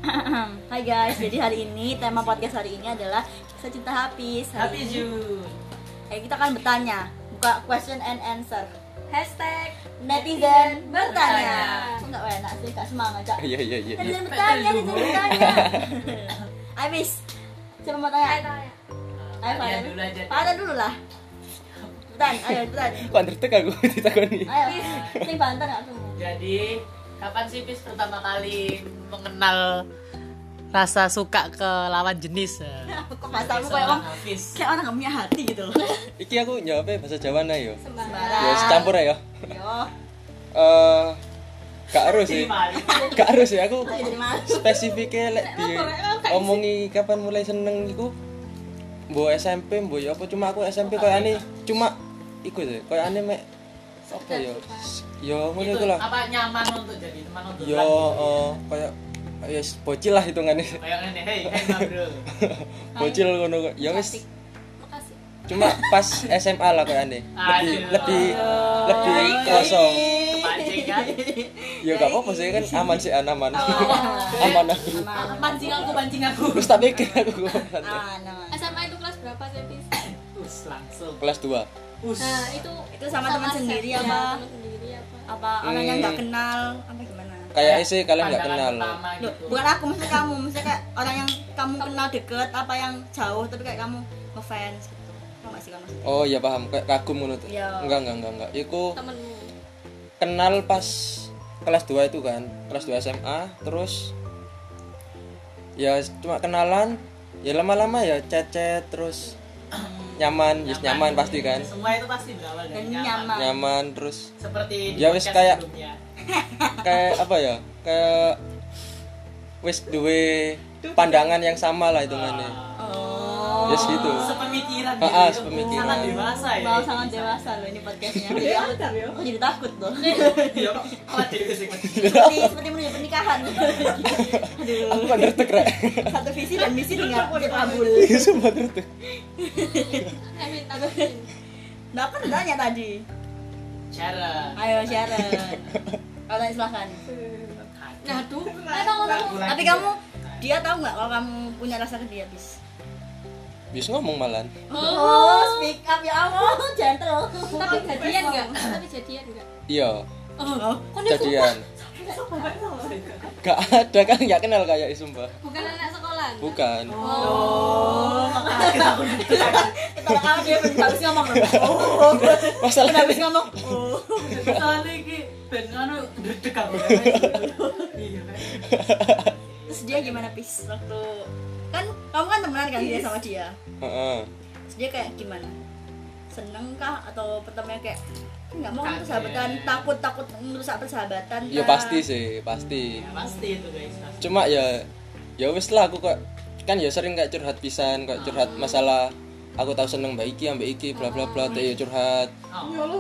Hai guys, jadi hari ini tema podcast hari ini adalah kisah cinta Hafiz. Happy June. Kita akan bertanya, buka question and answer. Hashtag Netizen bertanya. Kok nggak enak sih, nggak semangat cak. Iya. Netizen bertanya. Hafiz, siapa mau tanya? Ayo Kalian dulu aja. Pada dulu lah. Ayo. Kok undertek aku ditakoni. Ayo, sing banter nggak semua. Jadi, kapan sih Pis pertama kali mengenal rasa suka ke lawan jenis? Kok masamu kayak Seorang orang Hafiz. kayak orang nggak punya hati gitu loh. Iki aku jawabnya bahasa Jawa nah yo. Sembarang. Ya campur ya. Yo, Gak harus sih. Jadi mari. Gak harus ya aku. jadi malu. Spesifiknya lek di omongi kapan mulai seneng iku. Mbok SMP, mbok ya apa cuma aku SMP koyo aneh cuma iku sih, koyo aneh mek apa ya? Yo ngono Itu iku lah. apa nyaman untuk jadi teman untuk Yo koyo ya bocil lah hitungannya. kayak ngene, hey Mbak Bro. Bocil ngono kok. Ya wis Makasih. cuma pas SMA lah koyo aneh. Lebih kerasa. Kepancing kan? Ya gak apa-apa sih kan aman sih aman. Aman aku. Pancing aku. Terus tak pikir aku Aman. SMA itu kelas berapa sih, Bis? Us langsung. kelas 2. Us. Nah, itu sama teman sendiri set, apa? ya, teman sendiri apa? Apa orang yang nggak kenal apa gimana? Kayak sih kalian nggak Pandangan kenal. pertama Loh, gitu. bukan aku, maksudnya kamu, maksudnya kayak orang yang kamu kenal deket apa yang jauh tapi kayak kamu ngefans gitu. Tau gak sih kamu maksudnya? Oh iya paham, kayak kagum ngono tuh. Iya. Enggak. Iku Temenmu. kenal pas kelas 2 itu kan. Kelas 2 SMA terus ya cuma kenalan, ya lama-lama ya chat terus nyaman pasti kan. Semua itu pasti berawal dari Dan nyaman. Nyaman terus Seperti di Ya, wis podcast kayak- sebelumnya. kayak apa ya? Kayak wis duwe pandangan yang sama lah hitungannya. Oh. Yes gitu. Sepemikiran Ah, gitu. sepemikiran. Sangat dewasa ya. Mau sangat dewasa loh ini podcastnya. Aku jadi takut loh. Iya kok awak dhewe sing Seperti menuju pernikahan. Aku Aduh. kan ngertek rek. Satu visi dan misi dengan kabul. Iya sumpah ngertek. Amin, amin. Nah, aku udah tanya tadi. Sharon. Ayo Sharon. Kalau silahkan. Nah, tuh. Emang Tapi kamu dia tahu nggak kalau kamu punya rasa ke dia, Bis? Bis ngomong malan. Oh, speak up ya Allah, gentle. tapi jadian enggak? Tapi jadian enggak? Iya, Oh, jadian. Gak ada kan nggak kenal kayak sumpah. Bukan anak sekolah. Bukan. oh, makanya aku kita kamu dia habis ngomong loh. Oh, Masalah habis ngomong. Oh. Soalnya iki ben anu ndredeg aku. Iya. Terus dia gimana, Pis? Waktu kan kamu kan temenan kan dia sama dia. Heeh. Terus dia kayak gimana? Seneng kah atau pertamanya kayak nggak mau kan Kaget. persahabatan, takut merusak persahabatan? Ya kah? pasti sih, pasti. Ya, pasti itu guys. Pasti. Cuma ya wis lah aku kok kan ya sering kayak curhat pisan, kayak curhat masalah aku tahu seneng mbak iki bla bla bla teh ya curhat. Oh.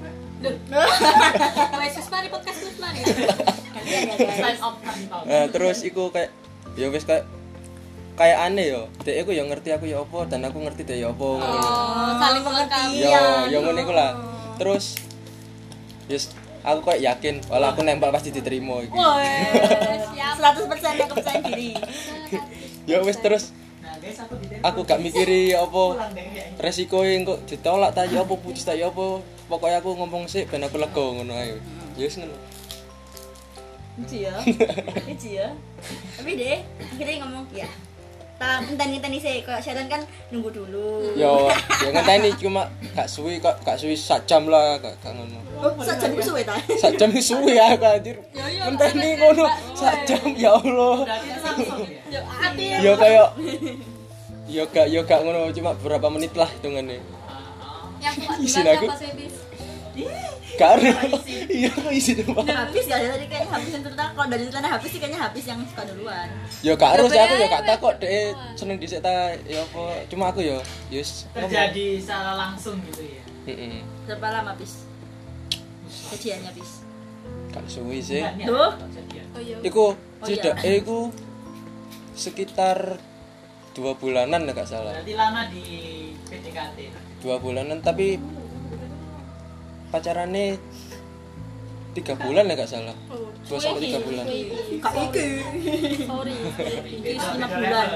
Wes wis mari podcast wis mari. Kasihan ya guys. Sign off kan. Nah, terus iku kayak ya wis kayak aneh yo. Dek aku ya ngerti aku ya apa dan aku ngerti dek ya apa ngono. Oh, saling melengkapi. Yo ngono iku lah. Terus yes aku kayak yakin walau aku nembak pasti diterima iki. Woi, Siap. 100% yang kepercayaan diri. Ya wis terus Nah, guys aku di aku gak mikiri apa pulang deh ya. resikoe kok ditolak ta ya apa putus ta ya apa pokoknya aku ngomong sih ben aku lega ngono ae ya wis ngono Lucu ya. Tapi deh, akhirnya ngomong ya. Tak ngenteni sih, kayak Sharon kan nunggu dulu. ya ngenteni cuma gak suwi sak jam lah gak ngono Oh, sajam ku suwe ta. sak jam iki suwi aku anjir ngenteni ngono sak jam ya Allah Berarti itu langsung ya. Yo ati. ya kayak ya gak ngono cuma beberapa menit lah hitungannya Yang kuat Isin duluan aku. siapa sih, Bis? gak ada iya aku isi dulu Habis ya tadi kayaknya habis yang cerita. Kalau dari ceritanya habis sih kayaknya habis yang suka duluan. ya gak harus ya aku ya gak takut deh seneng dhisik ta ya apa cuma aku ya yes Terjadi secara langsung gitu ya. heeh Berapa lama bis? Kejadiannya bis. gak suwi sih Bukan, ya, Duh. kejadian. Oh iya. iku iya. tidak iku sekitar 2 bulanan ya gak salah Berarti lama di PDKT. 2 bulanan tapi pacarannya 3 bulan ya gak salah. Oh, 2 sampai 3 bulan. Kak iki. sorry. Iki 5 bulan.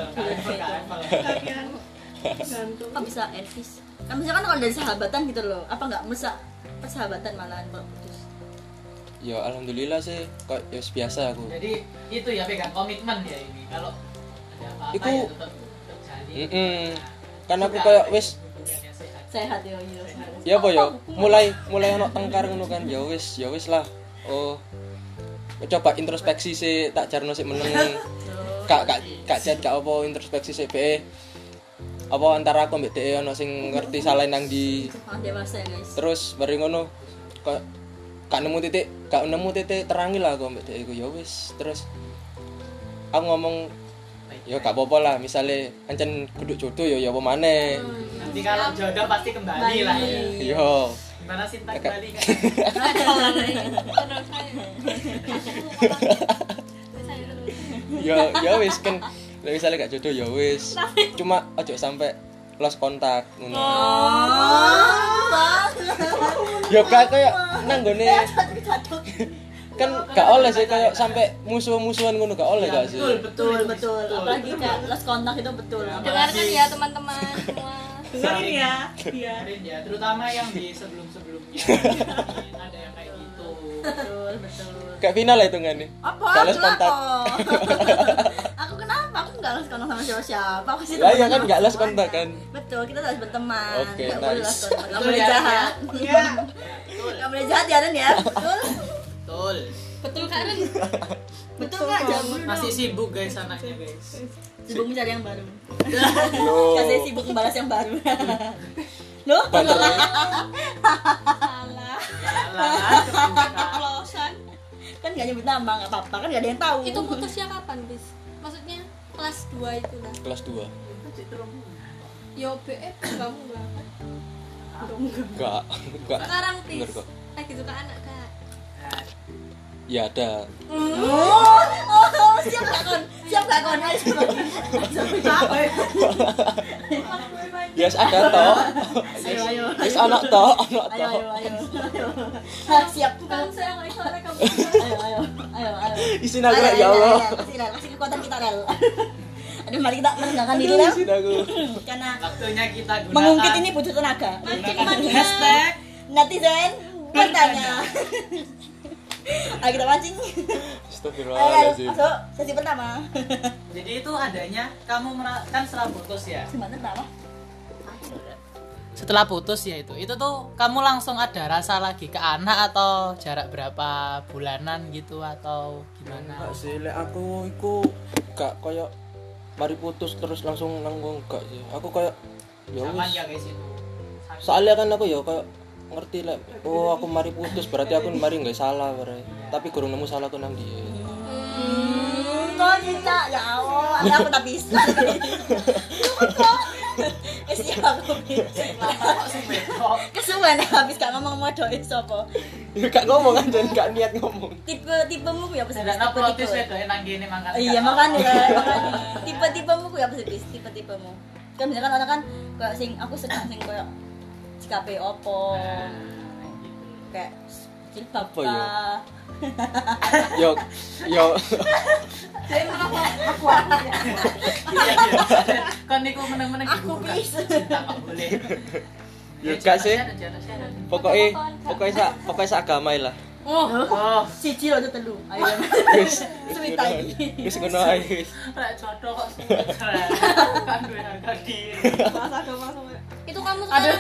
Kok bisa Elvis? Kan misalkan kalau dari sahabatan gitu loh, apa nggak mesak persahabatan malahan kalau putus? Ya alhamdulillah sih kok ya biasa aku. Jadi itu ya pegang komitmen ya ini. Kalau ada apa-apa Iku- ya tetap jalin. Kan aku kayak wis Hubungannya sehat. Sehat ya, iya. ya apa ya mulai ono tengkar ngono kan ya wis lah. Oh. Coba introspeksi sih tak jarno sik meneng. Kak chat gak apa introspeksi sih be. Apa antara aku mbek dhek ono sing ngerti salah nang di. Dewasa ya guys. Terus bareng ngono kok gak nemu titik terangi lah aku mbek dhek iku ya wis. Terus aku ngomong ya gak apa-apa lah misalnya ancen kudu jodoh ya apa maneh. Nanti kalau jodoh pasti kembali lah ya. Yo. Gimana Sinta kembali kan? Terus saya Ya wis kan lek misalnya gak jodoh ya wis. Cuma ojo sampai lost kontak ngono. Ya gak kayak nang gone kan gak oleh sih kayak sampai musuh-musuhan ngono gak oleh gak sih. Betul. Apalagi kayak lost kontak itu betul. dengarkan ya teman-teman semua. Dengerin ya. Dengerin ya, terutama yang di sebelum-sebelumnya. Ada yang kayak gitu. Betul. Kayak final lah hitungannya. Apa? Gak lost kontak. Aku kenapa? Aku nggak lost kontak sama siapa. Aku sih Lah ya kan gak lost kontak kan. Betul, kita harus berteman. Oke, Nggak boleh nice. lost kontak. Nggak Betul boleh ya, jahat. Iya. Nggak boleh jahat ya Dan ya. Betul. Betul. Betul Karen? Betul nggak? Jawab dulu Masih dong. sibuk guys anaknya guys. Sibuk mencari yang baru. Loh. Kasih sibuk membalas yang baru. Loh? Salah. Salah. Klosan. Kan nggak nyebut nama, nggak apa-apa. Kan nggak ada yang tahu. Itu putusnya kapan, Bis? Maksudnya kelas 2 itu lah. Kelas 2. Yo BF kamu banget. Enggak. Sekarang Bener Bis kok. lagi suka anak Kak. Ya ada. Siap gak kon? Ayo sampai Ya ada toh. Ayo. Wis anak toh. Ayo. Siap. Kamu saya nggak suara kamu. Ayo. Isin aku ya Allah. Kasih kekuatan kita Rel. Aduh, mari kita menenangkan diri Rel. Isin aku. Karena Waktunya kita gunakan mengungkit ini butuh tenaga. gunakan hashtag. Netizen bertanya. Ayo kita mancing. Ayo, Astagfirullahaladzim. masuk sesi pertama. Jadi itu adanya kamu kan setelah putus ya. Gimana pertama? Setelah putus ya itu tuh kamu langsung ada rasa lagi ke anak atau jarak berapa bulanan gitu atau gimana? Enggak sih, lek aku iku gak koyo mari putus terus langsung nanggung enggak sih. Aku koyo ya Zaman wis. ya guys itu. Soalnya kan aku ya koyo ngerti lek oh aku mari putus berarti aku mari nggak salah berarti. Tapi kurang nemu salahku nang dia. Kok cinta? Ya Allah, ada apa tapi? Siapa aku bising lah. Kesuwen habis gak ngomong modoin sopo. Ya gak ngomong kan dan gak niat ngomong. Tipemu ku ya apa sih? Ada protes wedo nang kene mangkat. Iya makanya tipe-tipemu ku ya apa sih? Tipe-tipemu. Kan misalkan orang kan kayak sing aku seneng sing kayak sikape opo. Kayak jilbab Apa ya? kah? Yo. Kan niku meneng-meneng Aku dibuka. bisa. Cinta kok boleh. Ya gak sih. Sharon. Pokoknya seagama lah. Oh, Siji aja telu. Ayo. Wis Suwita iki. wis ngono ae wis. rek jodoh kok keren. Kan duwe harga diri. Itu kamu sekarang.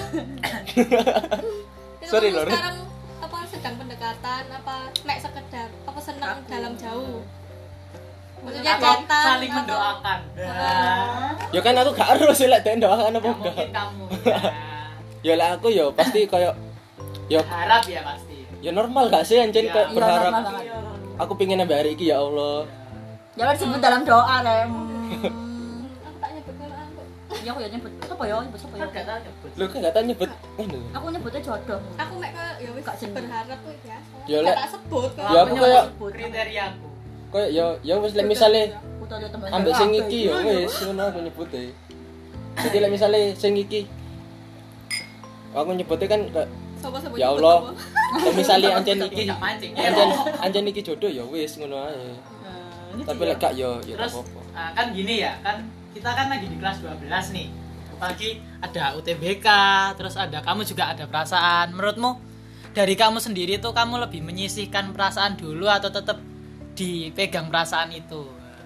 Itu Sorry, kamu Lor. sekarang apa sedang pendekatan apa mek sekedar apa senang dalam jauh? Maksudnya Atau datang saling atau- mendoakan. Ya kan aku gak harus sih lek ndoakan apa Ya, mungkin enggak. kamu Ya lek aku ya pasti kayak ya harap ya pasti. ya normal gak sih anjir Iya. kayak Iya, berharap normal banget. aku pengen nambah hari iki ya Allah. Jangan disebut dalam doa, Rem. Aku tak nyebut kalau aku. Ya aku ya nyebut. Apa ya? Nyebut apa ya? Kan gak tahu nyebut. Lu kan gak tau nyebut ngono. Aku nyebutnya jodoh. Aku mek ke ya wis Gak seneng. berharap kok biasa. Ya, Gak Lek. tak sebut kok. Ya, aku kayak- kriteriaku. Kayak ya wis lek misale Aku tahu dia teman. ambek sing iki ya wis ngono aku nyebut e. Jadi lek misale sing iki aku nyebutnya kan kayak Sopo-sopo Ya nyebut Allah. apa? Kalau misalnya anjen iki Gak mancing. anjen iki jodoh ya wis ngono ae. Tapi lek gak ya tak Terus apa-apa. kan gini ya, kan kita kan lagi di kelas 12 nih. Apalagi ada UTBK, terus ada kamu juga ada perasaan. Menurutmu dari kamu sendiri tuh kamu lebih menyisihkan perasaan dulu atau tetap dipegang perasaan itu?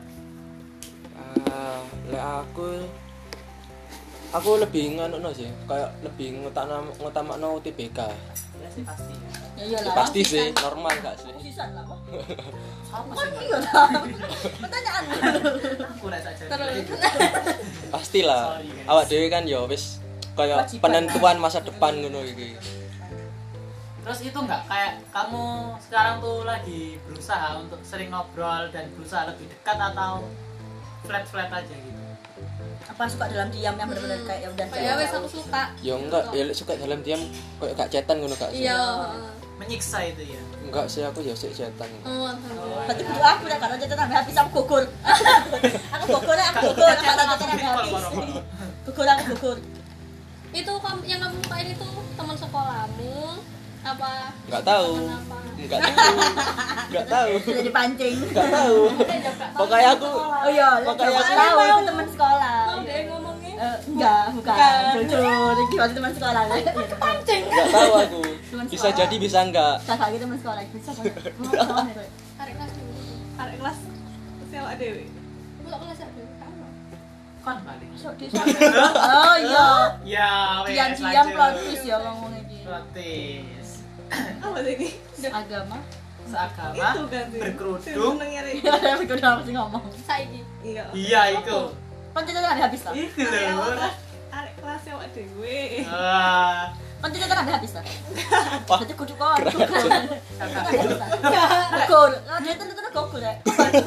Lek aku lebih ngono sih, kayak lebih ngutamakno UTBK. Ya sih pasti. Ya iyalah. Pasti sih, normal gak sih? Sisan lah kok. Apa Kan sih? iya lah. Pertanyaan. Aku rasa saja. Terus Pastilah. Sorry, guys. Awak dhewe kan ya wis kayak Kewajiban. penentuan masa depan ngono iki. Terus itu enggak kayak kamu sekarang tuh lagi berusaha untuk sering ngobrol dan berusaha lebih dekat atau flat aja gitu? Apa suka dalam diam yang benar-benar kayak ya udah ya wes aku suka. Ya enggak, ya lek suka dalam diam kayak gak cetan ngono gak sih? Iya. Menyiksa itu ya. Enggak sih, aku ya sik cetan. Oh, alhamdulillah. berarti kudu aku dah kalau jatuh sampai habis aku gugur. Aku gugur kalau jatuh sampai habis. Gugur. Itu yang kamu sukain itu teman sekolahmu apa? Enggak tahu. Teman apa? Enggak tahu. Enggak tahu. Sudah dipancing. Enggak tahu. Pokoknya aku Oh iya, Pokoknya aku aku tahu itu teman sekolah. Mau deh ngomongnya. Enggak, bukan. Jujur, iki waktu teman sekolah lah. Pancing. enggak tahu aku. Teman Bisa sekolah. jadi bisa enggak. Kakak gitu teman sekolah bisa kok. Tarik kelas dulu. Arek kelas sewa dewe. Belok kelas ya dulu. Kon balik. Oh iya. Ya, wes. Diam-diam plot twist ya ngomong iki. Protes. Apa sih ini? Agama. Seagama Itu kan sih. berkerudung. Senengnya Rek. Aku udah mesti ngomong. Saiki. Iya. Iya itu. Kan cerita kan habis lah. Itu Arek loh. kelas arek kelas sewa dewe. Ah, Kan cerita kan habis lah. Wah, Jadi kudu kon. kakak. Gugur. Nah, dia tuh gugur ya.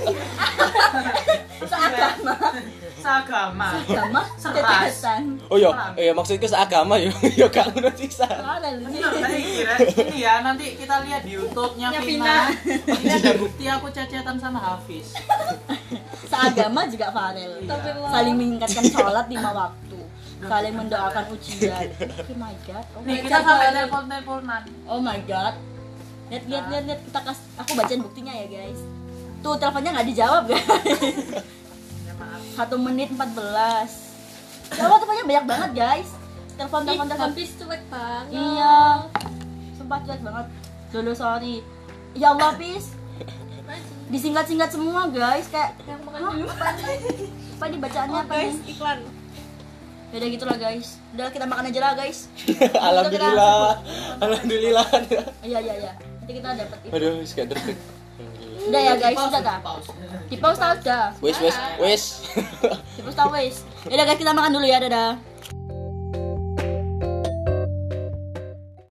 Seagama. Seagama. Agama Seras. setetesan. oh iya maksudku seagama yo yo gak ngono sisa. Ada lu. Bener, tadi kira ini ya nanti kita lihat di YouTube-nya Ya, Vina. Ini ada bukti aku cecetan sama Hafiz. Seagama juga Farel. Saling mengingatkan sholat 5 waktu. Saling mendoakan ujian. Oh my god. Oh Nih my kita God. sampai telepon-teleponan. Oh my god. Lihat kita aku bacain buktinya ya guys. Tuh teleponnya nggak dijawab guys. Ya maaf. 1 menit 14. Ya Allah teleponnya banyak banget guys. Telepon. Habis cuek banget. Iya. Sumpah cuek banget. Dulu sorry. Ya Allah Pis. Disingkat-singkat semua guys kayak Yang makan dulu. apa ini bacaannya Oh apa guys, nih? iklan. Ya udah gitulah guys. Udah kita makan aja lah guys. Alhamdulillah. Iya. Nanti kita dapat itu. Aduh, wis gak deg. Udah ya guys, Pause, udah dah. pause. Di pause tau udah. Wis. Di pause tau wis. Ya udah guys kita makan dulu ya, dadah.